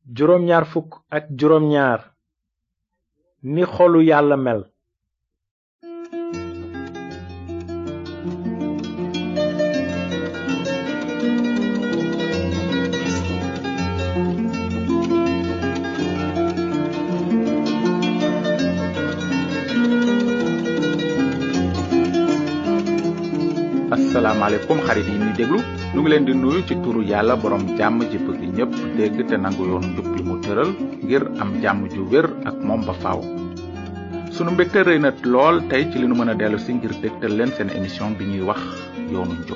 juróom ñaar fukk ak juróom ñaar ni xolu yàlla mel. asalaamaaleykum xarit yi ñuy déglu ñu ngi leen di nuyu ci turu yàlla borom jàmm ji bëgg ñëpp dégg te nangu yoonu njub bi mu tëral ngir am jàmm ju wér ak moom ba faaw. sunu mbégte rëy na lool tey ci li nu mën a dellu si ngir dégtal leen seen émission bi ñuy wax yoonu njub.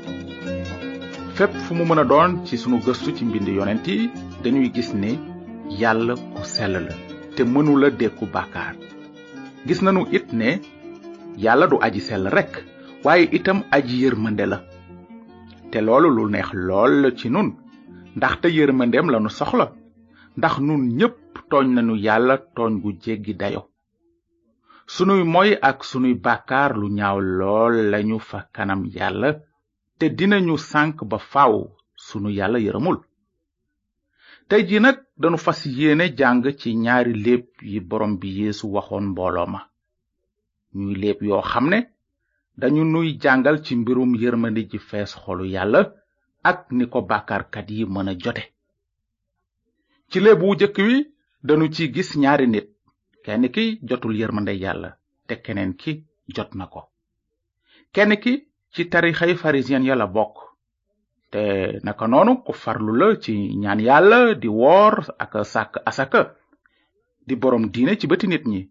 fépp fu mu mën a doon ci sunu gëstu ci mbind yonent yi dañuy gis ne yàlla ku sell la te mënula dékku bàkkaar. gis nañu it ne yàlla du aji sell rekk waaye itam aji yërmande la te loolu lu neex lool ci nun ndaxte yërmandeem lanu soxla ndax nun ñépp tooñ nañu yàlla tooñ gu jéggi dayo sunuy moy ak sunuy bàkkaar lu ñaaw lool lañu fa kanam yàlla te dinañu sànk ba faaw sunu yàlla yërëmul. tey ji nag dañu fas yéene jàng ci ñaari léeb yi borom bi Yeesu waxoon mbooloo ma ñuy léeb yoo xam ne dañu nuy jàngal ci mbirum yërmande ji fees xolu yàlla ak ni ko bàkkaarkat yi mën a jote. ci léeb wu jëkk wi dañu ci gis ñaari nit, kenn ki jotul yërmande yàlla te keneen ki jot na ko. kenn ki ci tarixay pharisien ya la bokk te naka noonu ku farlu la ci ñaan yàlla di woor ak sàkk asaka di borom diine ci bëti nit ñi.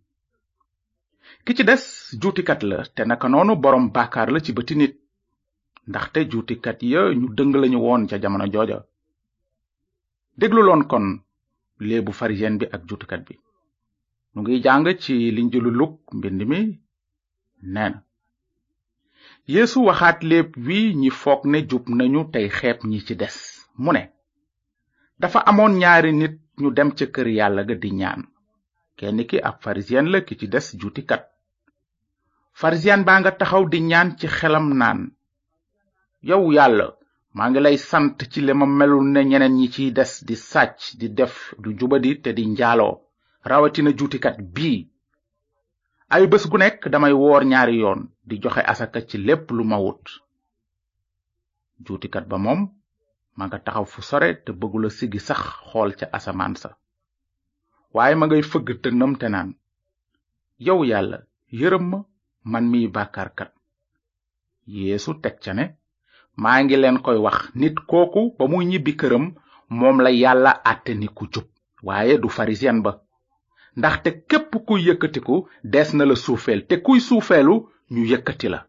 ki ci des juutikat la te naka noonu borom bàkkaar la ci bëti nit ndaxte juutikat ya ñu dëng lañu woon ca jamono jooja. dégluloon kon léebu pharisien bi ak juutikat bi. nu ngi jàng ci linjilu Luk mbind mi nee na Yeesu waxaat léeb wi ñi foog ne jub nañu tey xeeb ñi ci des mu ne dafa amoon ñaari nit ñu dem ca kër yàlla ga di ñaan, kenn ki ab pharisien la ki ci des juutikat. pharisien baa nga taxaw di ñaan ci xelam naan, yow yàlla maa ngi lay sant ci li ma melul ne ñeneen ñi ciy des di sàcc di def du jubadi te di njaaloo rawatina juutikat bii. ay bés gu nekk damay woor ñaari yoon di joxe asaka ci lépp lu ma wut. juutikat ba moom ma nga taxaw fu sore te bëggula siggi sax xool ca asamaan sa waaye ma ngay fëgg dënnam te naan, yow yàlla yërëm ma man miy bàkkaarkat. Yeesu teg ca ne, maa ngi leen koy wax, nit kooku ba muy ñibbi këram moom la yàlla àtte ni ku jub waaye du pharisien ba, ndaxte képp kuy yëkkatiku des na la suufeel te kuy suufeelu ñu yëkkati la.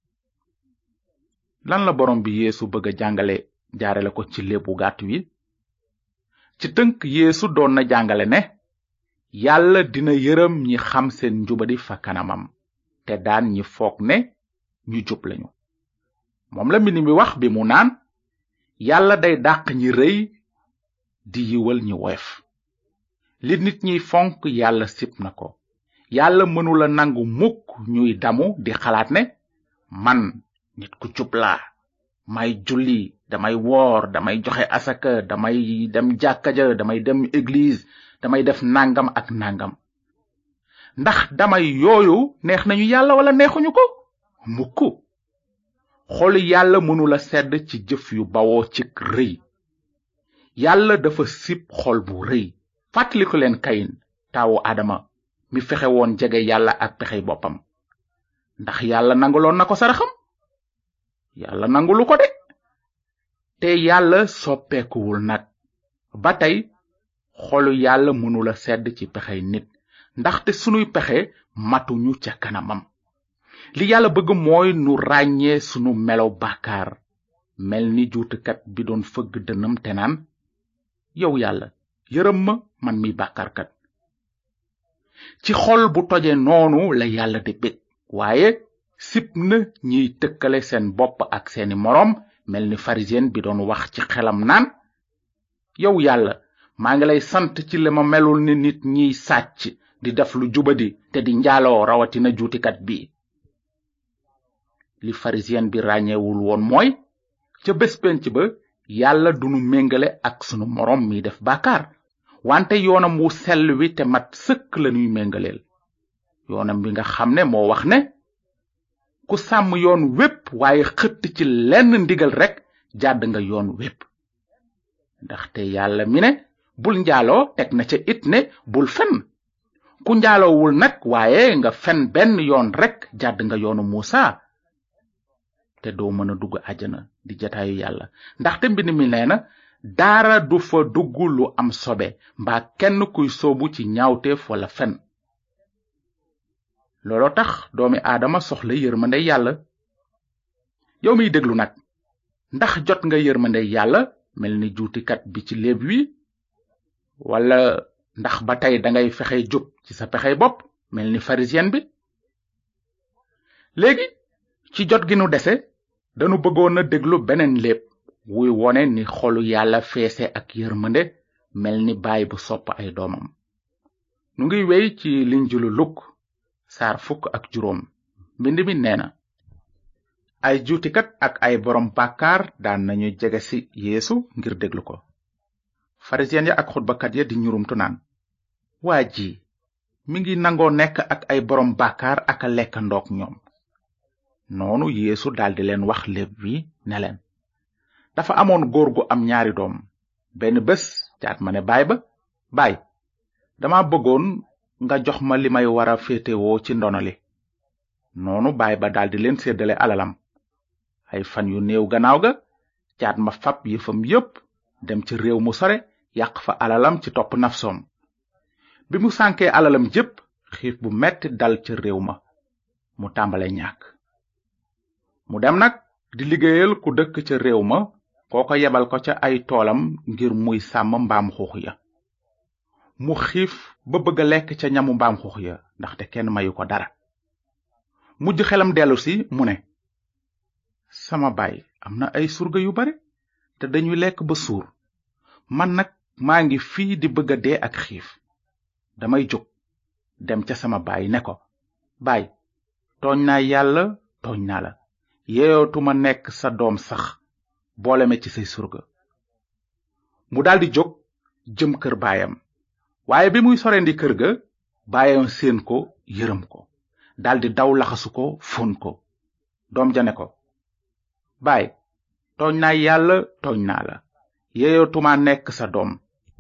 lan la borom bi Yeesu bëgg a jàngale jaarale ko ci léebu gàtt wi? ci tënk Yeesu doon na jàngale ne yàlla dina yërëm ñi xam seen njubadi fa kanamam te daan ñi foog ne ñu jub lañu. moom la mbind mi wax bi mu naan yàlla day dàq ñi rëy di yiwal ñi woyof. li nit ñiy fonk yàlla sib na ko. yàlla mënula nangu mukk ñuy damu di xalaat ne man nit ku jub laa, may julli, damay woor, damay joxe asaka, damay dem jàkka ja, damay dem église, damay def nangam ak nangam. ndax damay yooyu neex nañu yàlla wala neexuñu ko? mukk. xolu yàlla mënula sedd ci jëf yu bawoo ci rëy. yàlla dafa sib xol bu rëy. fàttaliku leen Kayin taawu Adama mi fexe woon jege yàlla ak pexey boppam. ndax yàlla nanguloon na ko saraxam? yàlla nangulu ko de. te yàlla soppeekuwul nag. ba tey xolu yàlla mënula sedd ci pexey nit ndaxte sunuy pexe matuñu ca kanamam. li yàlla bëgg mooy nu ràññee sunu melo bàkkaar mel ni juutikat bi doon fëgg dënam te naan, yow yàlla yërëm ma man mi bàkkaarkat. ci xol bu toje noonu la yàlla di bég waaye sib na ñiy tëkkale seen bopp ak seeni moroom mel ni pharisien bi doon wax ci xelam naan, yow yàlla maa ngi lay sant ci li ma melul ni nit ñiy sàcc di def lu jubadi te di njaaloo rawatina juutikat bi. li pharisien bi ràññeewul woon mooy ca bés penc ba yàlla dunu méngale ak sunu moroom mi def bàkkaar wante yoonam wu sell wi te mat sëkk lañuy méngaleel. yoonam bi nga xam ne moo wax ne ku sàmm yoon wépp waaye xëtt ci lenn ndigal rekk jàdd nga yoon wépp. ndaxte yàlla mi ne bul njaaloo teg na ca it ne bul fen. ku njaaloowul nag waaye nga fen benn yoon rekk jàdd nga yoonu Muusa te doo mën a dugg àjjana di jataayu yàlla. ndaxte mbind mi nee na dara du fa dugg lu am sobe mbaa kenn kuy soobu ci ñaawteef wala fen. looloo tax doomi aadama soxla yërmande yàlla. yow miy déglu nag ndax jot nga yërmande yàlla mel ni juutikat bi ci léeb wi, wala ndax ba tey dangay fexe jub ci sa pexey bopp mel ni pharisien bi? léegi ci jot gi nu dese danu bëggoon a déglu beneen léeb wuy wone ni xolu yàlla feese ak yërmande mel ni baay bu sopp ay doomam. nu ngi wey ci linjilu Luk saar 15. mbind mi nee na ay juutikat ak ay borom bàkkaar daan nañu jege ci Yeesu ngir déglu ko. farisiyen ya ak xutbakat ya di ñurumtu naan, waa ji mi ngi nangoo nekk ak ay borom bàkkaar ak a lekkandook ñoom. noonu Yeesu daldi leen wax léeb wi ne leen, dafa amoon góor gu am ñaari doom. benn bés caat ma ne baay ba, baay, dama bëggoon nga jox ma li may wara féetewoo ci ndono li. noonu baay ba daldi leen séddale alalam. ay fan yu néew gannaaw ga caat ma fab yëfam yépp dem ci réew mu sore yàq fa alalam ci topp nafsoom. bi mu sànkee alalam jépp xiif bu metti dal ca réew ma mu tàmbale ñàkk. mu dem nag di liggéeyal ku dëkk ca réew ma kooko yebal ko ca ay toolam ngir muy sàmm mbaam xuux ya. mu xiif ba bëgg a lekk ca ñamu mbaam xuux ya ndaxte kenn mayu ko dara. mujj xelam dellu si mu ne, sama baay am na ay surga yu bare te dañuy lekk ba suur, man nag maa ngi fii di bëgg a dee ak xiif. damay jóg dem ca sama baay ne ko, baay, tooñ naa yàlla tooñ naa la, yeyootuma nekk sa doom sax, boole ma ci say surga. mu daldi jóg jëm kër baayam, waaye bi muy sorendi kër ga baayam séen ko yërëm ko, daldi daw laxasu ko fóon ko. doom ja ne ko, baay, tooñ naa yàlla tooñ naa la, yeyootuma nekk sa doom.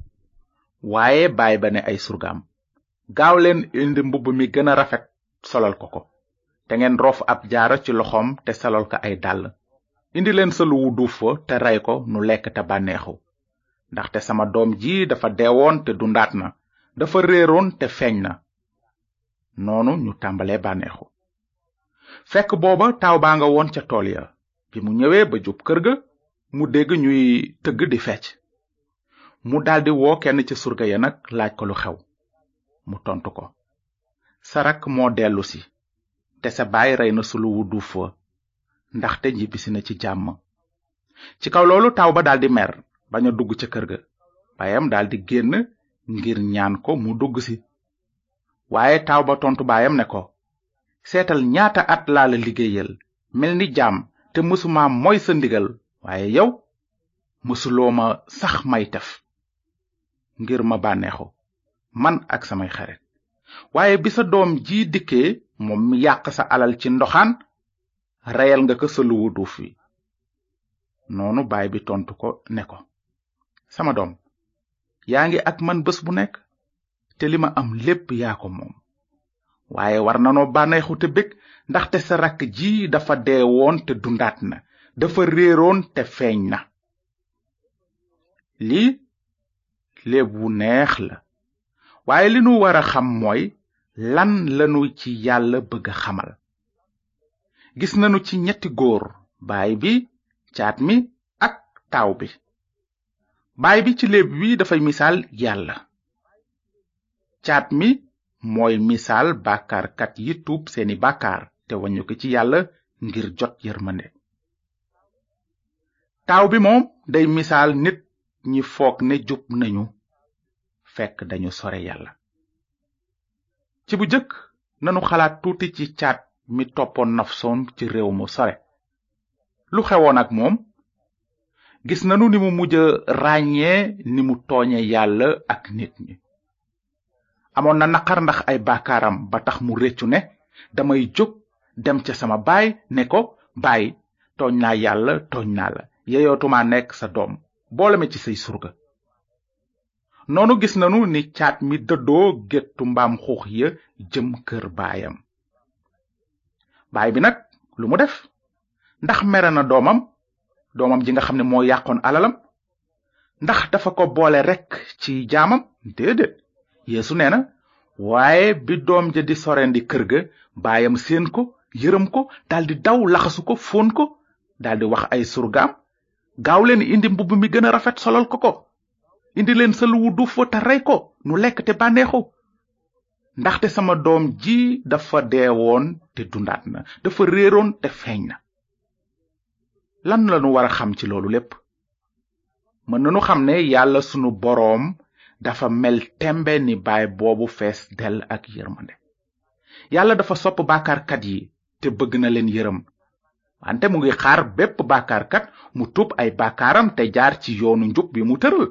waaye baay ba ne ay surgaam, gaaw leen indi mbubb mi gën a rafet solal ko ko, te ngeen roof ab jaaro ci loxoom te solal ko ay dàll. indi leen sëlu wu duuf fa te rey ko nu lekk te bànneexu, ndaxte sama doom ji dafa deewoon te dundaat na, dafa réeroon te feeñ na. noonu ñu tàmbalee bànneexu. fekk booba taaw baa nga woon ca tool ya. bi mu ñëwee ba jub kër ga mu dégg ñuy tëgg di fecc. mu daldi woo kenn ci surga ya nag laaj ko lu xew. mu tontu ko, sa rakk moo dellu si te sa baay rey na sulu wu duuf wa ndaxte ñibbisi na ci jàmm. ci kaw loolu taaw ba daldi mer bañ a dugg ca kër ga. baayam daldi génn ngir ñaan ko mu dugg si. waaye taaw ba tontu baayam ne ko, seetal ñaata at laa la liggéeyal mel ni jaam te mësuma mooy sa ndigal, waaye yow mësuloo ma sax may tef ngir ma bànneexu man ak samay xarit. waaye bi sa doom ji dikkee moom mi yàq sa alal ci ndoxaan, reyal nga ko sa luwu duuf wi. noonu baay bi tontu ko ne ko, sama doom, yaa ngi ak man bés bu nekk te li ma am lépp yaa ko moom. waaye war nanoo bànneexu te bég ndaxte sa rakk ji dafa deewoon te dundaat na, dafa réeroon te feeñ na. lii léeb wu neex la, waaye li nu war a xam mooy lan lanu ci yàlla bëgg a xamal. gis nanu ci ñetti góor, baay bi, caat mi ak taaw bi. baay bi ci léeb wi dafay misaal yàlla. caat mi mooy misaal bàkkaarkat yi tuub seeni bàkkaar te wañu ko ci yàlla ngir jot yërmande. taaw bi moom day misaal nit ñi foog ne jub nañu fekk dañu sore yàlla. ci bu jëkk nanu xalaat tuuti ci caat mi toppoon nafsoom ci réew mu sore. lu xewoon ak moom? gis nanu ni mu mujj ràññee ni mu tooñe yàlla ak nit ñi. amoon na naqar ndax ay bàkkaaram ba tax mu réccu ne damay jóg dem ca sama baay ne ko baay tooñ naa yàlla tooñ naa la yeyootuma nekk sa doom boole ma ci say surga. noonu gis nanu ni caat mi dëddoo géttu mbaam xuux ya jëm kër baayam. baay bi nag lu mu def ndax mere na doomam ji nga xam ne moo yàqoon alalam ndax dafa ko boole rekk ci jaamam déedéet. Yeesu nee na waaye bi doom ja di sorendi kër ga baayam seen ko yërëm ko daldi daw laxasu ko fóon ko daldi wax ay surgaam gaaw leen indi mbubb mi gën a rafet solal ko indi leen sël wu duuf te rey ko nu lekk te bànneexu ndaxte sama doom ji dafa deewoon te dundaat na dafa réeroon te feeñ na. lan lanu war a xam ci loolu lépp? mën nanu xam ne yàlla sunu boroom dafa mel tembe ni baay boobu fees dell ak yërmande. yàlla dafa sopp bàkkaarkat yi te bëgg na leen yërëm wante mu ngi xaar bépp bàkkaarkat mu tuub ay bàkkaaram te jaar ci yoonu njub bi mu tëral.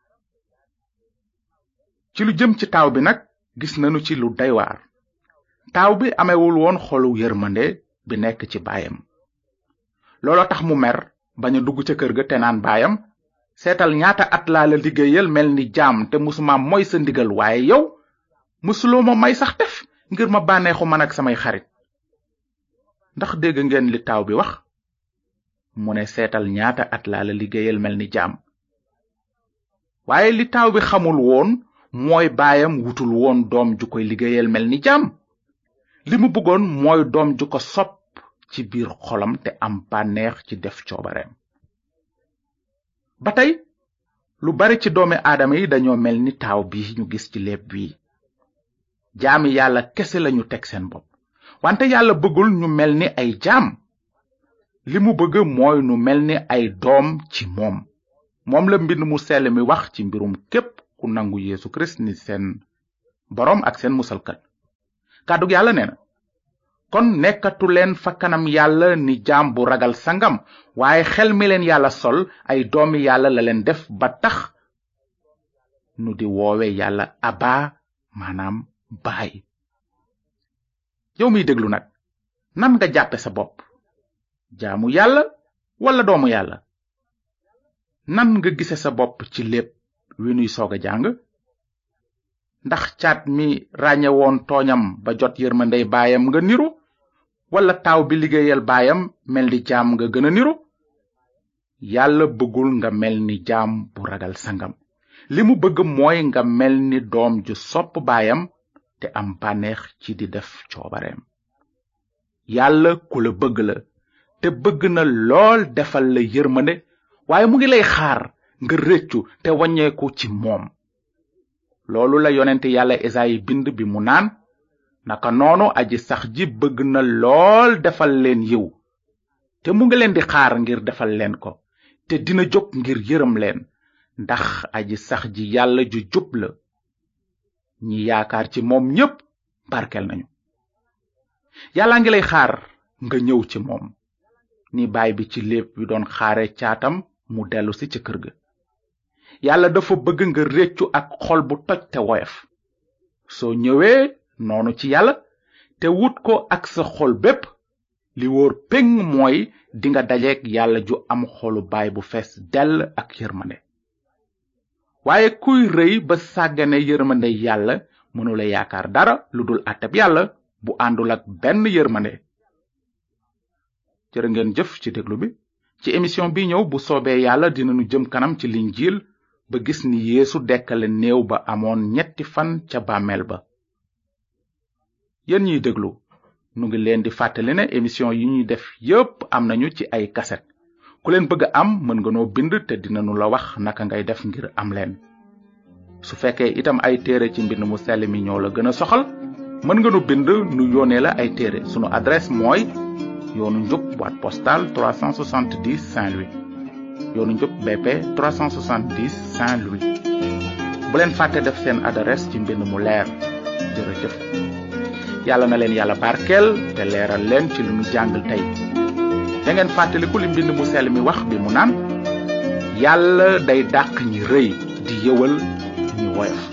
ci lu jëm ci taaw bi nag gis nanu ci lu doy waar. taaw bi amewul woon xolu yërmande bi nekk ci baayam. looloo tax mu mer bañ a dugg ca kër ga te naan baayam seetal ñaata at laa la liggéeyal mel ni jaam te musuma moy sa ndigal waaye yow musuloo ma may sax def ngir ma bànneexu man ak samay xarit. ndax dégg ngeen li taaw bi wax? mu ne seetal ñaata at laa la liggéeyal mel ni jaam. waaye li taaw bi xamul woon mooy baayam wutul woon doom ju koy liggéeyal mel ni jaam. li mu bëggoon mooy doom ju ko sopp ci biir xolam te am bànneex ci def coobareem. ba tey lu bari ci doomi aadama yi dañoo mel ni taaw bi ñu gis ci léeb bii. jaami yàlla kese lañu teg seen bopp wante yàlla bëggul ñu mel ni ay jaam. li mu bëgg mooy nu mel ni ay doom ci moom la mbind mu sell mi wax ci mbirum képp ku nangu Yeesu Kirist ni seen boroom ak seen musalkat. kàddug yàlla nee na kon nekkatu leen fa kanam yàlla ni jaam bu ragal sangam waaye xel mi leen yàlla sol ay doomi yàlla la leen def ba tax nu di woowe yàlla Abba maanaam baay. yow miy déglu nag nan nga jàppe sa bopp? jaamu yàlla wala doomu yàlla? nan nga gise sa bopp ci lépp wi nuy soog a jàng? ndax caat mi ràññe woon tooñam ba jot yërmandey baayam nga niru wala taaw bi liggéeyal baayam mel ni jaam nga gën a niru? yàlla bëggul nga mel ni jaam bu ragal sangam. li mu bëgg mooy nga mel ni doom ju sopp baayam te am bànneex ci di def coobareem. yàlla ku la bëgg la te bëgg na lool defal la yërmande waaye mu ngi lay xaar nga réccu te wàññeeku ci moom. loolu la yonent yàlla Esayi bind bi mu naan naka noonu aji sax ji bëgg na lool defal leen yiw te mu ngi leen di xaar ngir defal leen ko te dina jóg ngir yërëm leen ndax aji sax ji yàlla ju jub la. ñi yaakaar ci moom ñépp barkel nañu. yàlla ngi lay xaar nga ñëw ci moom ni baay bi ci léeb bi doon xaare caatam mu dellu si ca kër ga. yàlla dafa bëgg nga réccu ak xol bu toj te woyof. soo ñëwee noonu ci yàlla te wut ko ak sa xol bépp li wóor péng mooy dinga dajeek yàlla ju am xolu baay bu fees dell ak yërmande. waaye kuy rëy ba sàggane yërmande yàlla mënula yaakaar dara lu dul àtteb yàlla bu àndul ak benn yërmande. jërë ngeen jëf ci déglu bi. ci émission bi ñëw bu soobee yàlla dinañu jëm kanam ci linjiil ba gis ni Yeesu dekkale néew ba amoon 3 fan ca bàmmeel ba. yéen ñiy déglu nu ngi leen di fàttali ne émission yi ñuy def yépp am nañu ci ay kaset. ku leen bëgg am mën nga noo bind te dinañu la wax naka ngay def ngir am leen. su fekkee itam ay téere ci mbind mu sell mi ñoo la gën a soxal mën nga nu bind nu yónnee la ay téere. sunu adresse mooy yoonu njub boîte postale 370 Saint-Louis. yoonu njub BP 370 Saint-Louis. bu leen fàtte def seen adresse ci mbind mu leer. jërëjëf. yàlla na leen yàlla barkeel te leeral leen ci lu nu jàngal tey. da ngeen fàttaliku li mbind mu sell mi wax bi mu naan yàlla day dàq ñi rëy di yëwal ñi woyof.